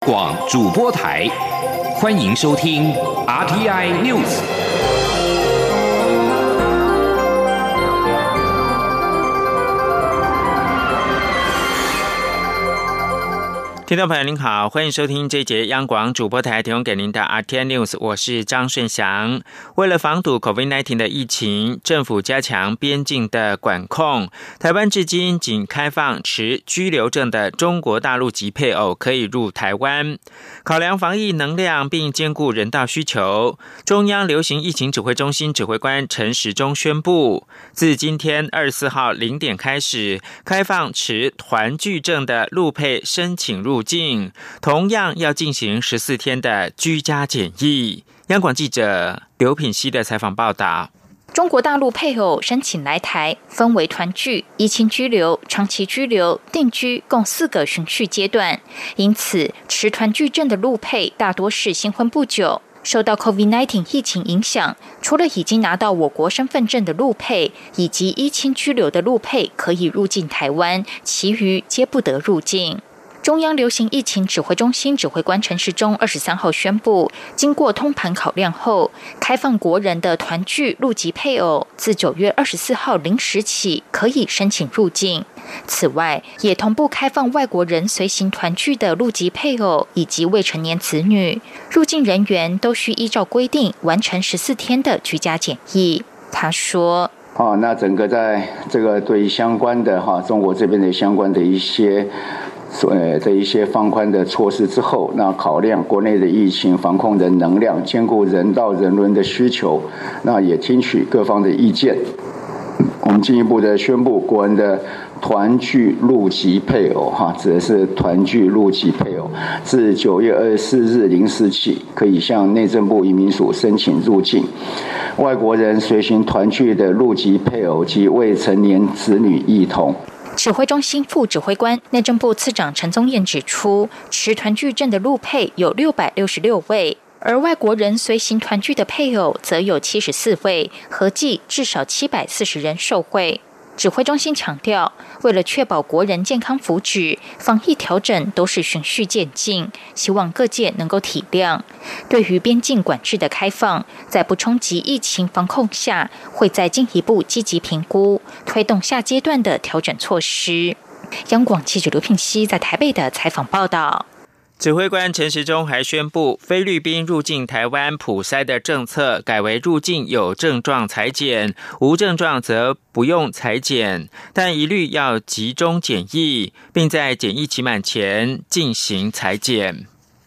广主播台，欢迎收听 RTI News。听众朋友您好，欢迎收听这一节央广主播台提供给您的 RTI News， 我是张顺祥。为了防堵 COVID-19 的疫情，政府加强边境的管控。台湾至今仅开放持居留证的中国大陆籍配偶可以入台湾。考量防疫能量并兼顾人道需求，中央流行疫情指挥中心指挥官陈时中宣布，自今天24号0点开始，开放持团聚证的陆配申请入境，同样要进行14天的居家检疫。央广记者刘品希的采访报道。 中国大陆配偶申请来台，分为团聚、依亲居留、长期居留、定居共4个循序阶段。因此，持团聚证的陆配大多是新婚不久。受到 COVID-19 疫情影响，除了已经拿到我国身份证的陆配以及依亲居留的陆配可以入境台湾，其余皆不得入境。中央流行疫情指挥中心指挥官陈时中23号宣布，经过通盘考量后，开放国人的团聚陆籍配偶自9月24号0时起可以申请入境。此外，也同步开放外国人随行团聚的陆籍配偶以及未成年子女，入境人员都需依照规定完成14天的居家检疫。他说： 那整个在这个对相关的中国这边的相关的一些放宽的措施之后，那考量国内的疫情防控的能量，兼顾人道人伦的需求，那也听取各方的意见。我们进一步的宣布，国人的团聚陆籍配偶指的是团聚陆籍配偶，自9月24日0时起，可以向内政部移民署申请入境。外国人随行团聚的陆籍配偶及未成年子女一同。 指挥中心副指挥官、内政部次长陈宗彦指出，持团聚证的陆配有666位，而外国人随行团聚的配偶则有74位，合计至少740人受惠。指挥中心强调，为了确保国人健康福祉，防疫调整都是循序渐进，希望各界能够体谅。对于边境管制的开放，在不冲击疫情防控下，会再进一步积极评估，推动下阶段的调整措施。央广记者刘品希在台北的采访报道。 指挥官陈时中还宣布，菲律宾入境台湾普筛的政策改为入境有症状采检，无症状则不用采检，但一律要集中检疫，并在检疫期满前进行采检。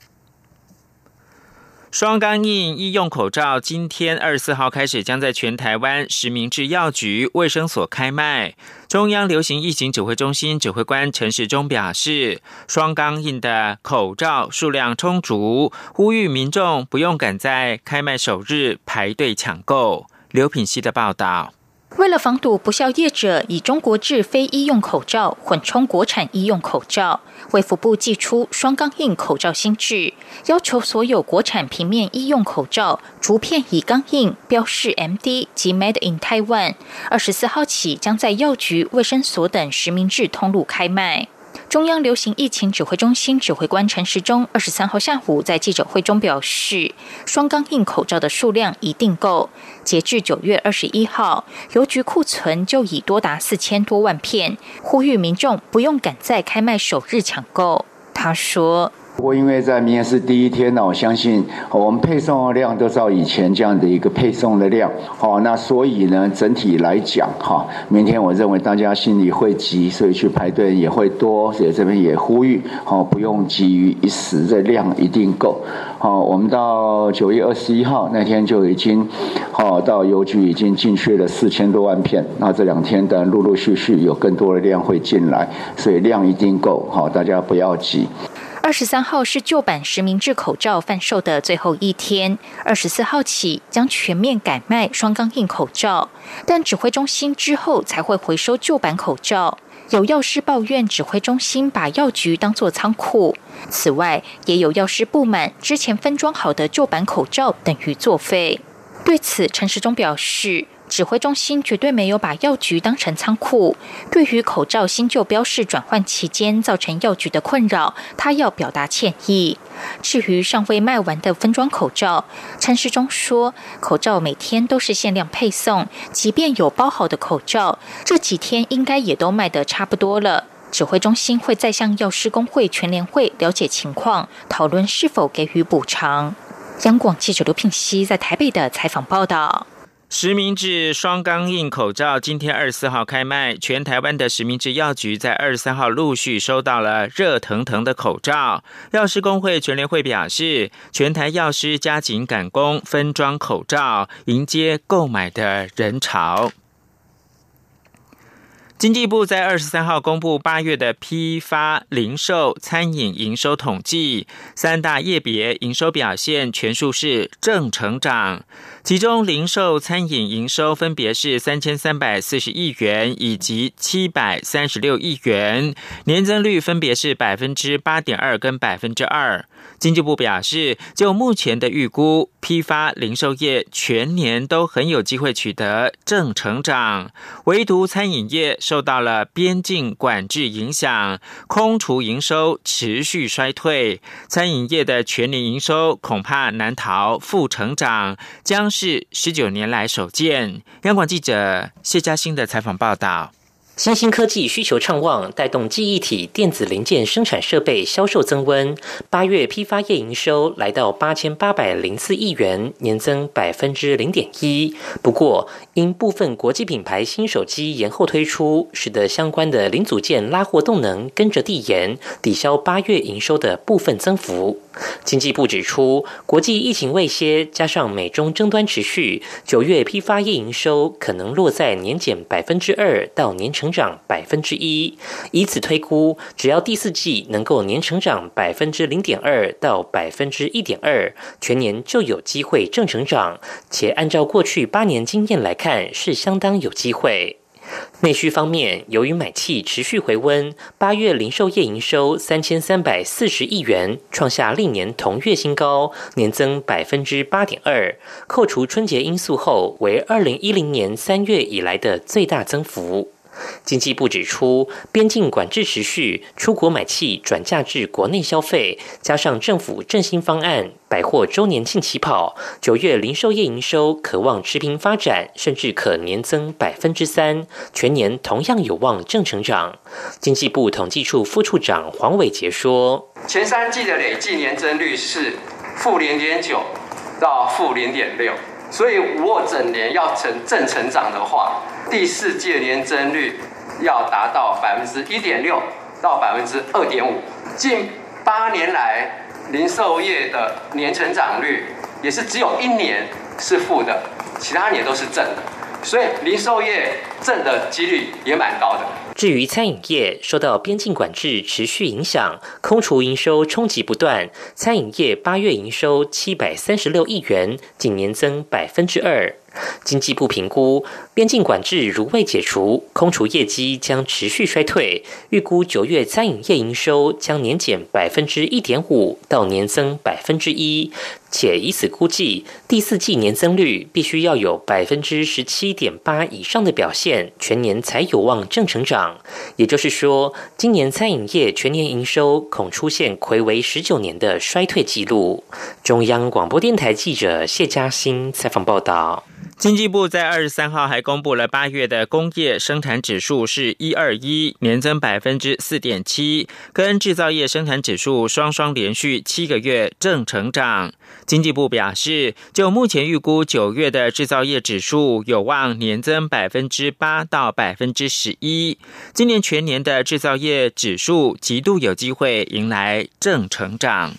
双钢印医用口罩今天24号开始将在全台湾实名制药局、卫生所开卖。中央流行疫情指挥中心指挥官陈时中表示，双钢印的口罩数量充足，呼吁民众不用赶在开卖首日排队抢购。刘品希的报道。 为了防堵不肖业者以中国制非医用口罩混充国产医用口罩，卫福部祭出双钢印口罩新制，要求所有国产平面医用口罩逐片以钢印标示 MD 及 Made in Taiwan。24号起将在药局、卫生所等实名制通路开卖。中央流行疫情指挥中心指挥官陈时中23号下午在记者会中表示，双钢印口罩的数量一定够，截至9月21号，邮局库存就已多达4000多万片，呼吁民众不用赶在开卖首日抢购。他说， 不过因为在明天是第一天呢，我相信我们配送的量都照以前这样的一个配送的量，那所以呢，整体来讲明天我认为大家心里会急，所以去排队也会多，所以这边也呼吁不用急于一时，这量一定够。我们到9月21号那天就已经到邮局已经进去了4000多万片，那这2天的陆陆续续有更多的量会进来，所以量一定够，大家不要急。 23号是旧版实名制口罩贩售的最后一天，24号起将全面改卖双钢印口罩，但指挥中心之后才会回收旧版口罩。有药师抱怨指挥中心把药局当作仓库，此外也有药师不满之前分装好的旧版口罩等于作废。对此，陈时中表示， 指挥中心绝对没有把药局当成仓库。对于口罩新旧标示转换期间造成药局的困扰，他要表达歉意。至于尚未卖完的分装口罩，陈时中说，口罩每天都是限量配送，即便有包好的口罩，这几天应该也都卖得差不多了。指挥中心会再向药师工会全联会了解情况，讨论是否给予补偿。央广记者刘聘熙在台北的采访报道。 实名制双钢印口罩今天24号开卖，全台湾的实名制药局在23号陆续收到了热腾腾的口罩。药师工会全联会表示，全台药师加紧赶工分装口罩，迎接购买的人潮。经济部在23号公布8月的批发、零售、餐饮营收统计，三大业别营收表现全数是正成长。其中零售餐饮营收分别是3340亿元以及736亿元，年增率分别是 8.2% 跟 2%。经济部表示，就目前的预估，批发零售业全年都很有机会取得正成长，唯独餐饮业受到了边境管制影响，空厨营收持续衰退，餐饮业的全年营收恐怕难逃负成长，将是19年来首见。央广记者谢嘉欣的采访报道。 新兴科技需求畅旺，带动记忆体、电子零件生产设备销售增温。8月批发业营收来到8804亿元，年增 0.1%。不过，因部分国际品牌新手机延后推出，使得相关的零组件拉货动能跟着递延，抵消8月营收的部分增幅。经济部指出，国际疫情未歇，加上美中争端持续，9月批发业营收可能落在年减 2% 到年成长 1%， 以此推估，只要第四季能够年成长 0.2% 到 1.2%， 全年就有机会正成长，且按照过去8年经验来看，是相当有机会。内需方面，由于买气持续回温，8月零售业营收3340亿元，创下历年同月新高，年增 8.2%， 扣除春节因素后，为2010年3月以来的最大增幅。经济部指出，边境管制持续，出国买气转嫁至国内消费，加上政府振兴方案，百货周年庆起跑，9月零售业营收可望持平发展，甚至可年增 3%， 全年同样有望正成长。经济部统计处副处长黄伟杰说， 前3季的累计年增率是负 0.9 到负 0.6， 所以如果整年要成正成长的话，第4季的年增率要达到 1.6% 到 2.5%。近8年来，零售业的年成长率也是只有1年是负的，其他年都是正的，所以零售业正的几率也蛮高的。 至于餐饮业，受到边境管制持续影响，空厨营收冲击不断。餐饮业8月营收736亿元，仅年增 2%。经济部评估，边境管制如未解除，空厨业绩将持续衰退，预估9月餐饮业营收将年减 1.5% 到年增 1%， 且以此估计，第4季年增率必须要有 17.8% 以上的表现，全年才有望正成长。也就是说，今年餐饮业全年营收恐出现睽违19年的衰退记录。中央广播电台记者谢嘉欣采访报道。 经济部在23号还公布了8月的工业生产指数是121，年增 4.7%， 跟制造业生产指数双连续7个月正成长。经济部表示，就目前预估9月的制造业指数有望年增 8% 到 11%， 今年全年的制造业指数极度有机会迎来正成长。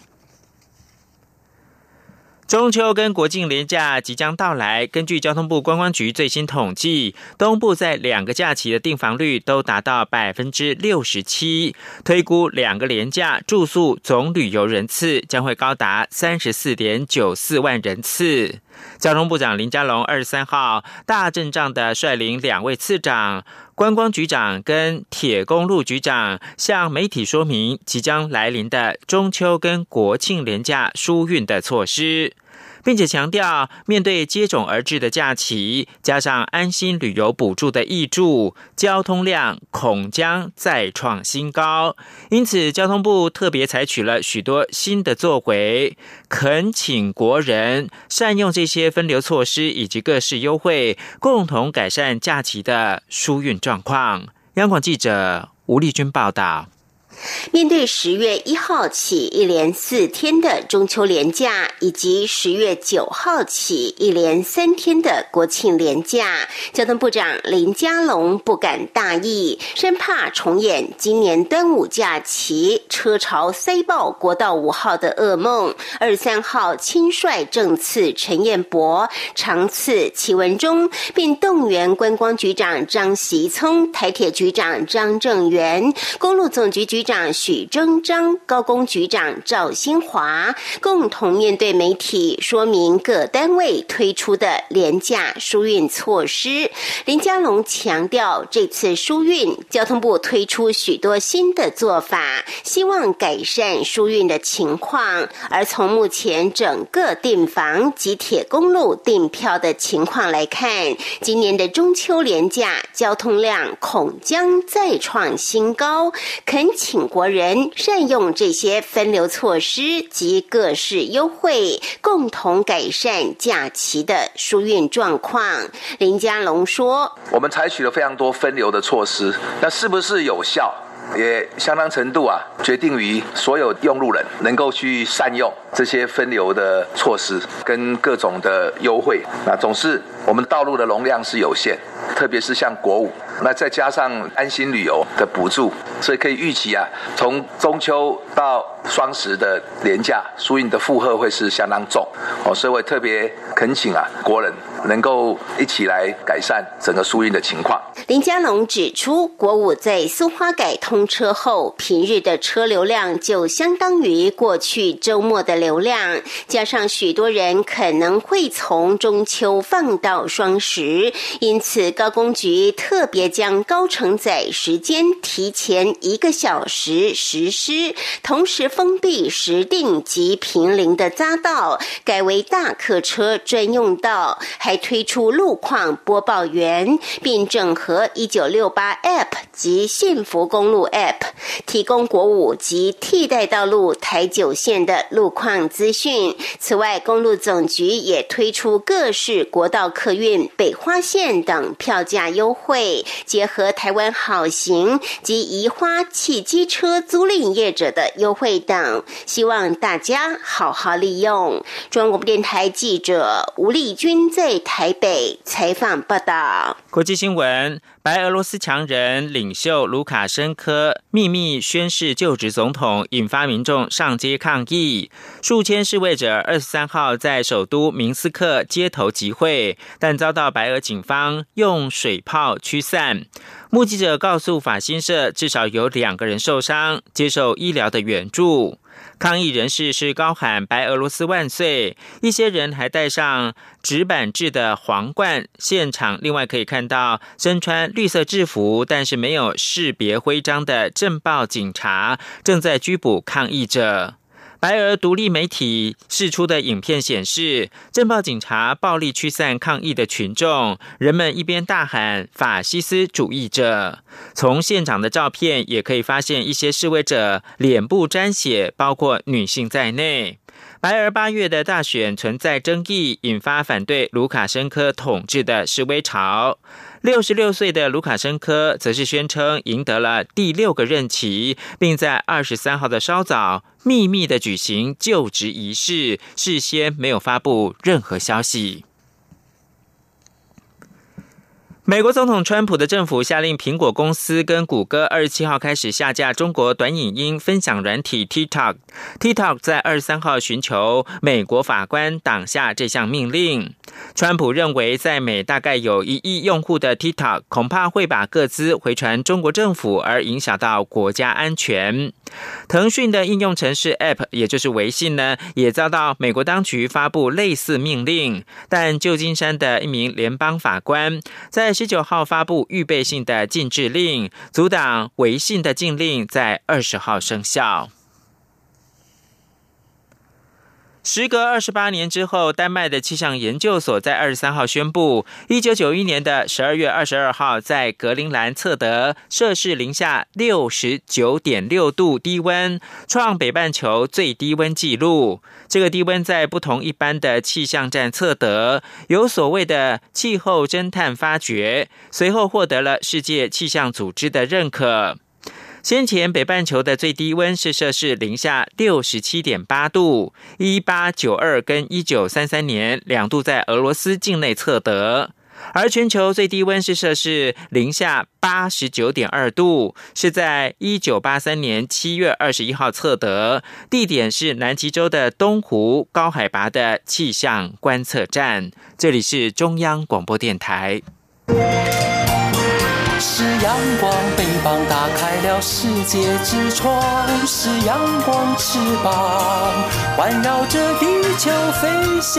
中秋跟国庆连假即将到来，根据交通部观光局最新统计，东部在2个假期的订房率都达到 67%， 推估2个连假住宿总旅游人次将会高达 34.94 万人次。交通部长林佳龙23号大阵仗的率领2位次长、观光局长跟铁公路局长向媒体说明即将来临的中秋跟国庆连假疏运的措施。 并且强调，面对接踵而至的假期，加上安心旅游补助的挹注，交通量恐将再创新高。因此，交通部特别采取了许多新的作为，恳请国人善用这些分流措施以及各式优惠，共同改善假期的疏运状况。央广记者吴丽君报道。 面对10月1号起一连4天的中秋连假，以及10月9号起一连3天的国庆连假，交通部长林佳龙不敢大意，生怕重演今年端午假期车潮塞爆国道5号的噩梦。23号亲率正次陈彦博、长次齐文忠，并动员观光局长张习聪、台铁局长张正元、公路总局局长许征章、高工局长赵新华共同面对媒体说明各单位推出的廉价疏运措施。林佳龙强调，这次疏运交通部推出许多新的做法，希望改善疏运的情况。而从目前整个订房及铁公路订票的情况来看，今年的中秋连假交通量恐将再创新高，恳请国人善用这些分流措施及各式优惠，共同改善假期的疏运状况。林佳龙说， 我们采取了非常多分流的措施，那是不是有效也相当程度决定于所有用路人能够去善用这些分流的措施跟各种的优惠。那总是我们道路的容量是有限，特别是像国五，那再加上安心旅游的补助，所以可以预期从中秋到双十的连假疏运的负荷会是相当重所以我特别恳请国人能够一起来改善整个疏运的情况。 林佳龙指出，国五在苏花改通车后，平日的车流量就相当于过去周末的流量，加上许多人可能会从中秋放到双十，因此高工局特别将高承载时间提前1个小时实施，同时封闭石碇及坪林的匝道，改为大客车专用道，还推出路况播报员，并整合1968 App 及幸福公路 App， 提供国五及替代道路台9线的路况资讯。此外，公路总局也推出各式国道客运、北花线等票价优惠，结合台湾好行及宜花汽机车租赁业者的优惠等，希望大家好好利用。中央广播电台记者吴丽君在台北采访报道。 国际新闻：白俄罗斯强人领袖卢卡申科秘密宣誓就职总统，引发民众上街抗议。数千示威者23号在首都明斯克街头集会，但遭到白俄警方用水炮驱散。目击者告诉法新社，至少有2个人受伤，接受医疗的援助。抗议人士是高喊白俄罗斯万岁，一些人还戴上纸板制的皇冠。现场另外可以看到身穿绿色制服但是没有识别徽章的政报警察正在拘捕抗议者。白俄独立媒体释出的影片显示，政报警察暴力驱散抗议的群众，人们一边大喊法西斯主义者。从现场的照片也可以发现，一些示威者脸部沾血，包括女性在内。白俄8月的大选存在争议，引发反对卢卡申科统治的示威潮。66岁的卢卡申科则是宣称赢得了第6个任期，并在23号的稍早秘密的举行就职仪式，事先没有发布任何消息。美国总统川普的政府下令苹果公司跟谷歌27号开始下架中国短影音分享软体 TikTok。TikTok 在23号寻求美国法官挡下这项命令。川普认为，在美大概有1亿用户的 TikTok 恐怕会把个资回传中国政府，而影响到国家安全。腾讯的应用程式 App 也就是微信呢，也遭到美国当局发布类似命令，但旧金山的一名联邦法官在19号发布预备性的禁制令，阻挡微信的禁令在20号生效。 时隔28年之后，丹麦的气象研究所在23号宣布，1991年的12月22号在格陵兰测得摄氏零下69.6度低温，创北半球最低温纪录。这个低温在不同一般的气象站测得，有所谓的气候侦探发掘，随后获得了世界气象组织的认可。先前北半球的最低温是摄氏零下67.8度，1892跟1933年2度在俄罗斯境内测得，而全球最低温是摄氏零下89.2度，是在1983年7月21号测得，地点是南极洲的东湖高海拔的气象观测站。这里是中央广播电台。 是阳光，翅膀打开了世界之窗，是阳光翅膀环绕着地球飞翔。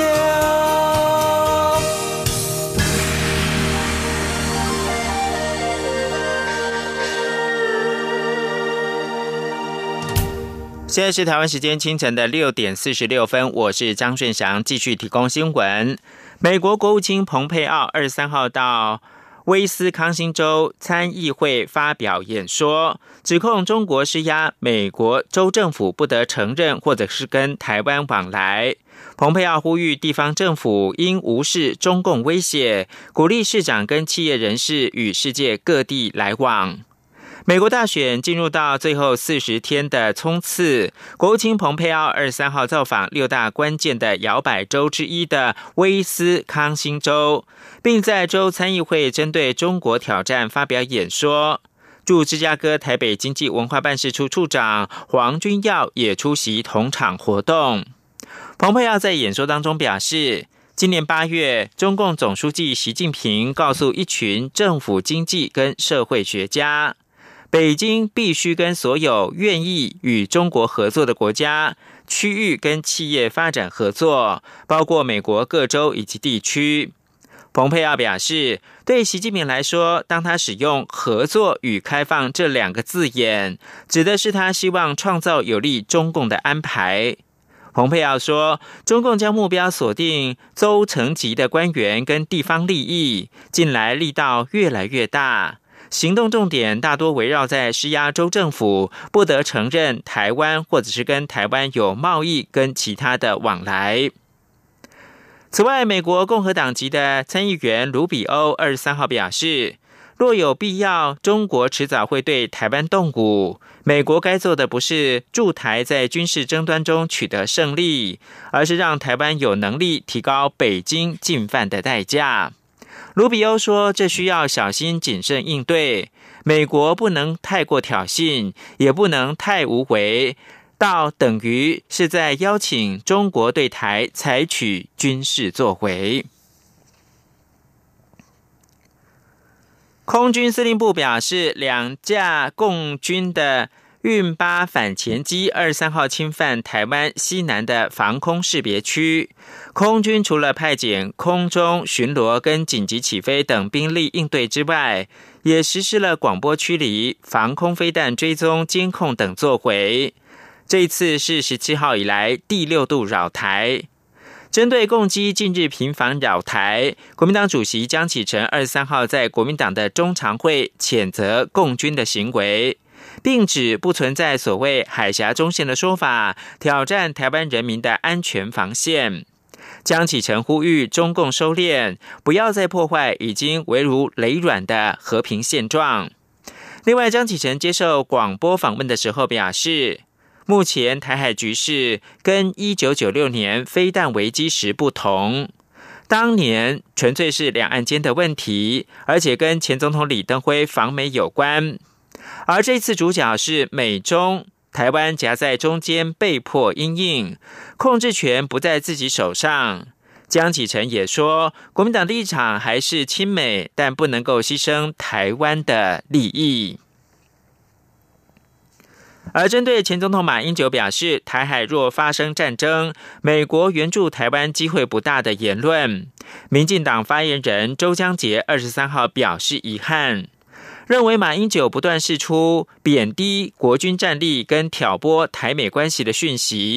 现在是台湾时间清晨的6点46分，我是张顺祥，继续提供新闻。美国国务卿蓬佩奥23号到威斯康星州参议会发表演说，指控中国施压美国州政府不得承认或者是跟台湾往来。蓬佩奥呼吁地方政府应无视中共威胁，鼓励市长跟企业人士与世界各地来往。美国大选进入到最后40天的冲刺，国务卿蓬佩奥23号造访6大关键的摇摆州之一的威斯康星州，并在州参议会针对中国挑战发表演说。驻芝加哥台北经济文化办事处处长黄君耀也出席同场活动。蓬佩奥在演说当中表示，今年8月，中共总书记习近平告诉一群政府经济跟社会学家，北京必须跟所有愿意与中国合作的国家、区域跟企业发展合作，包括美国各州以及地区。蓬佩奥表示，对习近平来说，当他使用合作与开放这2个字眼，指的是他希望创造有利中共的安排。蓬佩奥说，中共将目标锁定州层级的官员跟地方利益，近来力道越来越大，行动重点大多围绕在施压州政府不得承认台湾或者是跟台湾有贸易跟其他的往来。此外，美国共和党籍的参议员卢比欧23号表示，若有必要，中国迟早会对台湾动武，美国该做的不是助台在军事争端中取得胜利，而是让台湾有能力提高北京进犯的代价。卢比欧说，这需要小心谨慎应对，美国不能太过挑衅，也不能太无为，到等于是在邀请中国对台采取军事作为。空军司令部表示，2架共军的运8反潜机23号侵犯台湾西南的防空识别区，空军除了派遣空中巡逻跟紧急起飞等兵力应对之外，也实施了广播驱离、防空飞弹追踪、监控等作为。这一次是17号以来第6度扰台。针对共机近日频繁扰台，国民党主席江启臣23号在国民党的中常会谴责共军的行为，并指不存在所谓海峡中线的说法，挑战台湾人民的安全防线。江启臣呼吁中共收敛，不要再破坏已经危如累卵的和平现状。另外，江启臣接受广播访问的时候表示，目前台海局势跟1996年飞弹危机时不同，当年纯粹是两岸间的问题，而且跟前总统李登辉访美有关，而这次主角是美中，台湾夹在中间被迫因应，控制权不在自己手上。江启臣也说，国民党立场还是亲美，但不能够牺牲台湾的利益。而针对前总统马英九表示台海若发生战争，美国援助台湾机会不大的言论，民进党发言人周江杰23号表示遗憾，认为马英九不断释出贬低国军战力跟挑拨台美关系的讯息，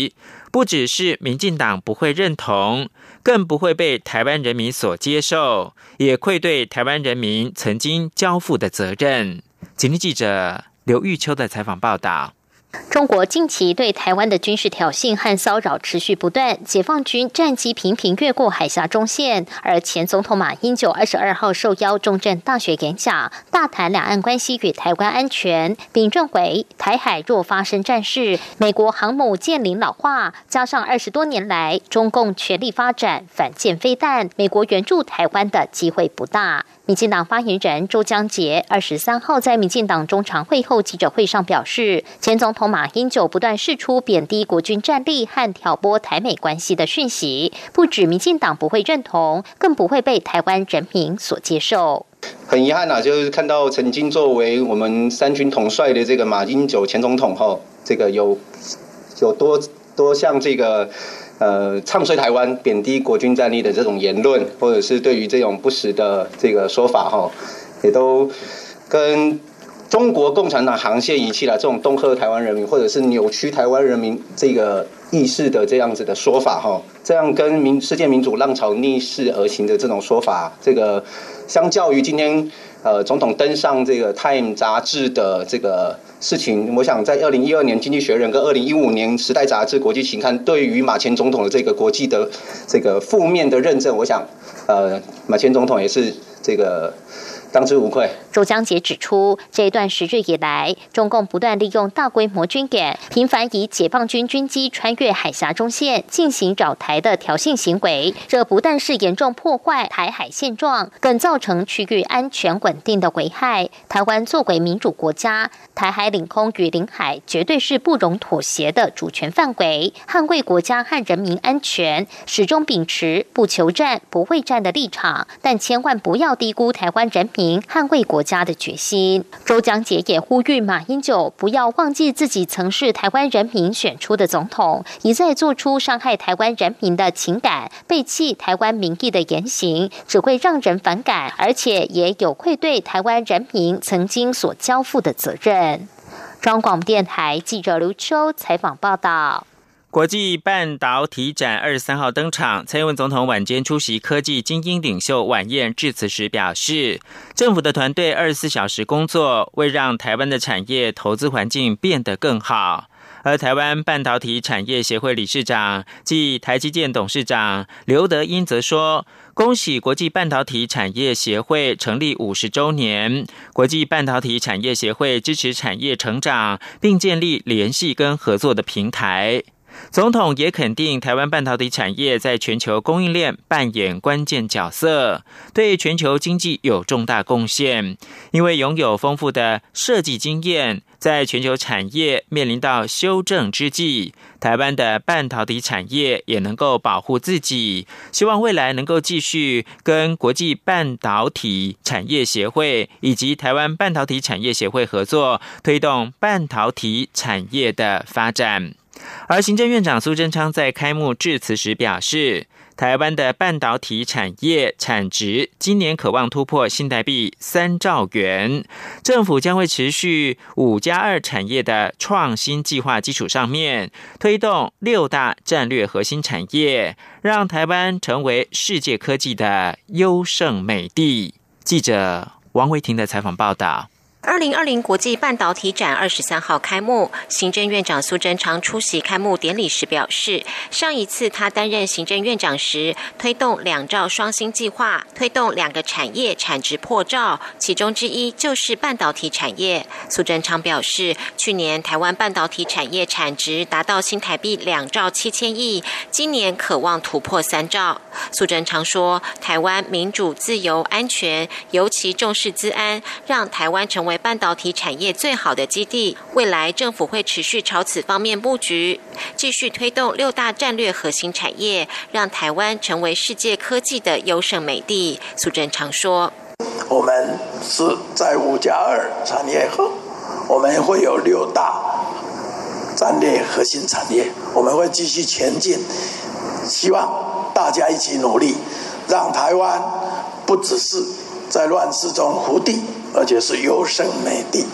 不只是民进党不会认同，更不会被台湾人民所接受，也愧对台湾人民曾经交付的责任。今天记者刘玉秋的采访报道。 中国近期对台湾的军事挑衅和骚扰持续不断，解放军战机频频越过海峡中线，而前总统马英九22号受邀重镇大学演讲，大谈两岸关系与台湾安全，并认为台海若发生战事，美国航母舰龄老化，加上20多年来中共全力发展反舰飞弹，美国援助台湾的机会不大。民进党发言人周江杰23号在民进党中常会后记者会上表示，前总统马英九不断释出贬低国军战力和挑拨台美关系的讯息，不止民进党不会认同，更不会被台湾人民所接受。 很遗憾就是看到曾经作为我们三军统帅的这个马英九前总统这个有多像这个唱衰台湾、贬低国军战力的这种言论，或者是对于这种不实的这个说法也都跟中国共产党沆瀣一气了。这种恫吓台湾人民，或者是扭曲台湾人民这个意识的这样子的说法这样跟世界民主浪潮逆势而行的这种说法，这个相较于今天总统登上这个 Time 杂志的这个事情，我想在2012年经济学人跟2015年时代杂志国际期刊对于马前总统的这个国际的这个负面的认证，我想马前总统也是这个当之无愧。 周江杰指出，这一段时日以来，中共不断利用大规模军演，频繁以解放军军机穿越海峡中线进行扰台的挑衅行为，这不但是严重破坏台海现状，更造成区域安全稳定的危害。台湾作为民主国家，台海领空与领海绝对是不容妥协的主权范围，捍卫国家和人民安全，始终秉持不求战、不畏战的立场，但千万不要低估台湾人民捍卫国家的决心。周江杰也呼吁马英九不要忘记自己曾是台湾人民选出的总统，一再做出伤害台湾人民的情感、背弃台湾民意的言行，只会让人反感，而且也有愧对台湾人民曾经所交付的责任。中央广播电台记者刘秋采访报道。 国际半导体展23号登场，蔡英文总统晚间出席科技精英领袖晚宴致辞时表示，政府的团队24小时工作，为让台湾的产业投资环境变得更好。而台湾半导体产业协会理事长暨台积电董事长刘德音则说，恭喜国际半导体产业协会成立50周年，国际半导体产业协会支持产业成长，并建立联系跟合作的平台。总统也肯定台湾半导体产业在全球供应链扮演关键角色，对全球经济有重大贡献。因为拥有丰富的设计经验，在全球产业面临到修正之际，台湾的半导体产业也能够保护自己。希望未来能够继续跟国际半导体产业协会以及台湾半导体产业协会合作，推动半导体产业的发展。而行政院长苏贞昌在开幕致辞时表示，台湾的半导体产业产值今年可望突破新台币3兆元，政府将会持续5+2产业的创新计划基础上面，推动6大战略核心产业，让台湾成为世界科技的优胜美地。记者王维婷的采访报道。 2020国际半导体展23号开幕，行政院长苏贞昌出席开幕典礼时表示，上一次他担任行政院长时，推动2兆双星计划，推动2个产业产值破兆，其中之一就是半导体产业。苏贞昌表示，去年台湾半导体产业产值达到新台币2兆7千亿，今年可望突破3兆。苏贞昌说，台湾民主、自由、安全，尤其重视资安，让台湾成为半导体产业最好的基地，未来政府会持续朝此方面布局，继续推动6大战略核心产业，让台湾成为世界科技的优胜美地。苏贞昌说， 我们是在5+2产业后，我们会有6大战略核心产业，我们会继续前进，希望大家一起努力，让台湾不只是在乱世中糊地，而且是优胜美地。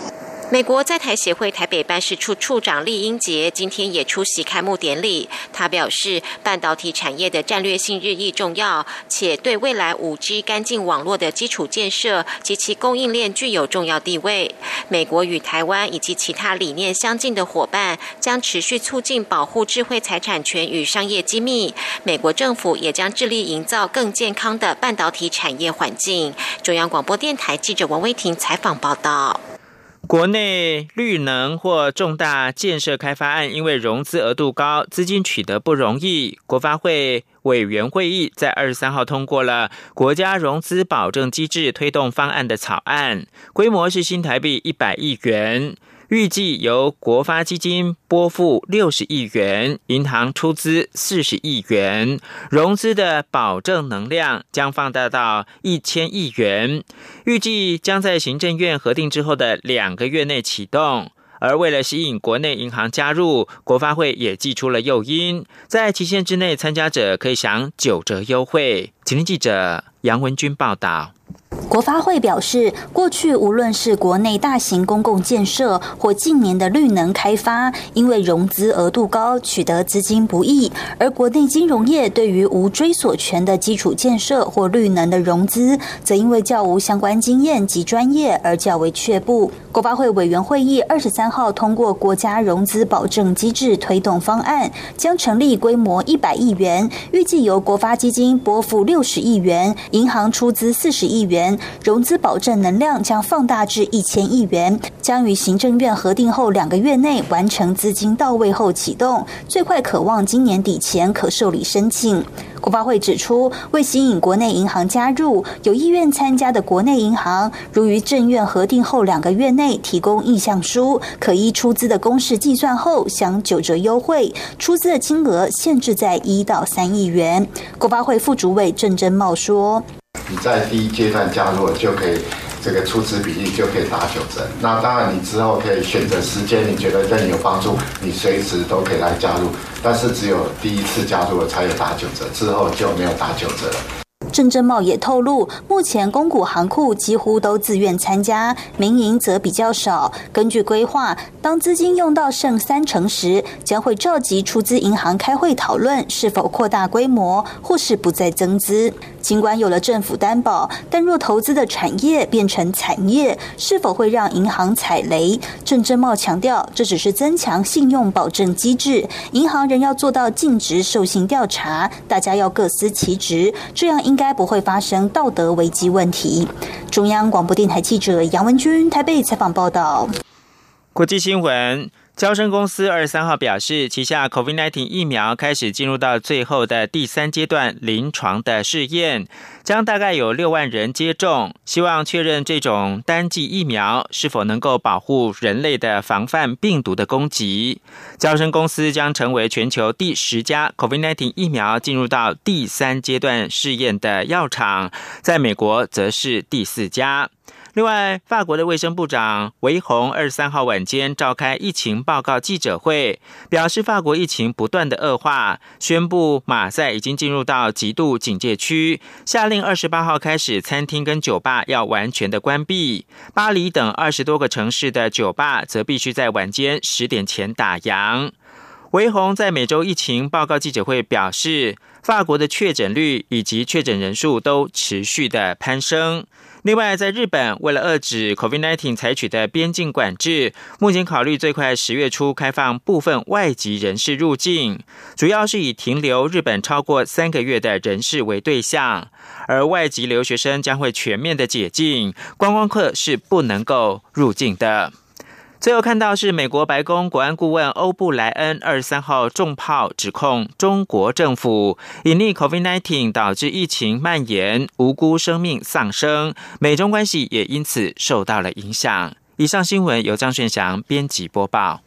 美国在台协会台北办事处处长厉英杰今天也出席开幕典礼。他表示，半导体产业的战略性日益重要，且对未来 5G 干净网络的基础建设及其供应链具有重要地位。美国与台湾以及其他理念相近的伙伴将持续促进保护智慧财产权与商业机密。美国政府也将致力营造更健康的半导体产业环境。中央广播电台记者王威婷采访报道。 国内绿能或重大建设开发案，因为融资额度高，资金取得不容易，国发会委员会议在23号通过了国家融资保证机制推动方案的草案，规模是新台币100亿元。预计由国发基金拨付60亿元，银行出资40亿元，融资的保证能量将放大到1000亿元，预计将在行政院核定之后的2个月内启动。而为了吸引国内银行加入，国发会也祭出了诱因，在期限之内，参加者可以享9折优惠。请听记者杨文君报道。 国发会表示，过去无论是国内大型公共建设或近年的绿能开发，因为融资额度高，取得资金不易，而国内金融业对于无追索权的基础建设或绿能的融资，则因为较无相关经验及专业而较为却步。国发会委员会议23号通过国家融资保证机制推动方案，将成立规模100亿元，预计由国发基金拨付60亿元，银行出资40亿元，融资保证能量将放大至1000亿元，将于行政院核定后2个月内完成资金到位后启动，最快可望今年底前可受理申请。国发会指出，为吸引国内银行加入，有意愿参加的国内银行，如于政院核定后2个月内提供意向书，可依出资的公式计算后享9折优惠，出资的金额限制在1到3亿元。国发会副主委郑珍茂说， 你在第一阶段加入就可以这个出资比例就可以打9折，那当然你之后可以选择时间，你觉得对你有帮助，你随时都可以来加入，但是只有第一次加入了才有打9折，之后就没有打9折了。 郑珍茂也透露，目前公股行库几乎都自愿参加，民营则比较少。根据规划，当资金用到剩30%时，将会召集出资银行开会讨论是否扩大规模，或是不再增资。尽管有了政府担保，但若投资的产业变成惨业，是否会让银行踩雷？郑珍茂强调，这只是增强信用保证机制，银行仍要做到尽职受信调查，大家要各司其职，这样应该不会发生道德危机问题。中央广播电台记者杨文君台北采访报道。 国际新闻，交生公司23号表示，旗下 COVID-19 疫苗开始进入到最后的第3阶段临床的试验，将大概有6万人接种，希望确认这种单剂疫苗是否能够保护人类的防范病毒的攻击。交生公司将成为全球第10家 COVID-19 疫苗进入到第3阶段试验的药厂，在美国则是第4家。另外，法国的卫生部长维宏23号晚间召开疫情报告记者会，表示法国疫情不断的恶化，宣布马赛已经进入到极度警戒区，下令28号开始餐厅跟酒吧要完全的关闭，巴黎等20多个城市的酒吧则必须在晚间10点前打烊。维宏在每周疫情报告记者会表示，法国的确诊率以及确诊人数都持续的攀升。另外，在日本，为了遏止 COVID-19 采取的边境管制，目前考虑最快10月初开放部分外籍人士入境，主要是以停留日本超过3个月的人士为对象，而外籍留学生将会全面的解禁，观光客是不能够入境的。最后看到是美国白宫国安顾问欧布莱恩23号重炮指控中国政府隐匿 COVID-19 导致疫情蔓延，无辜生命丧生，美中关系也因此受到了影响。以上新闻由张炫祥编辑播报。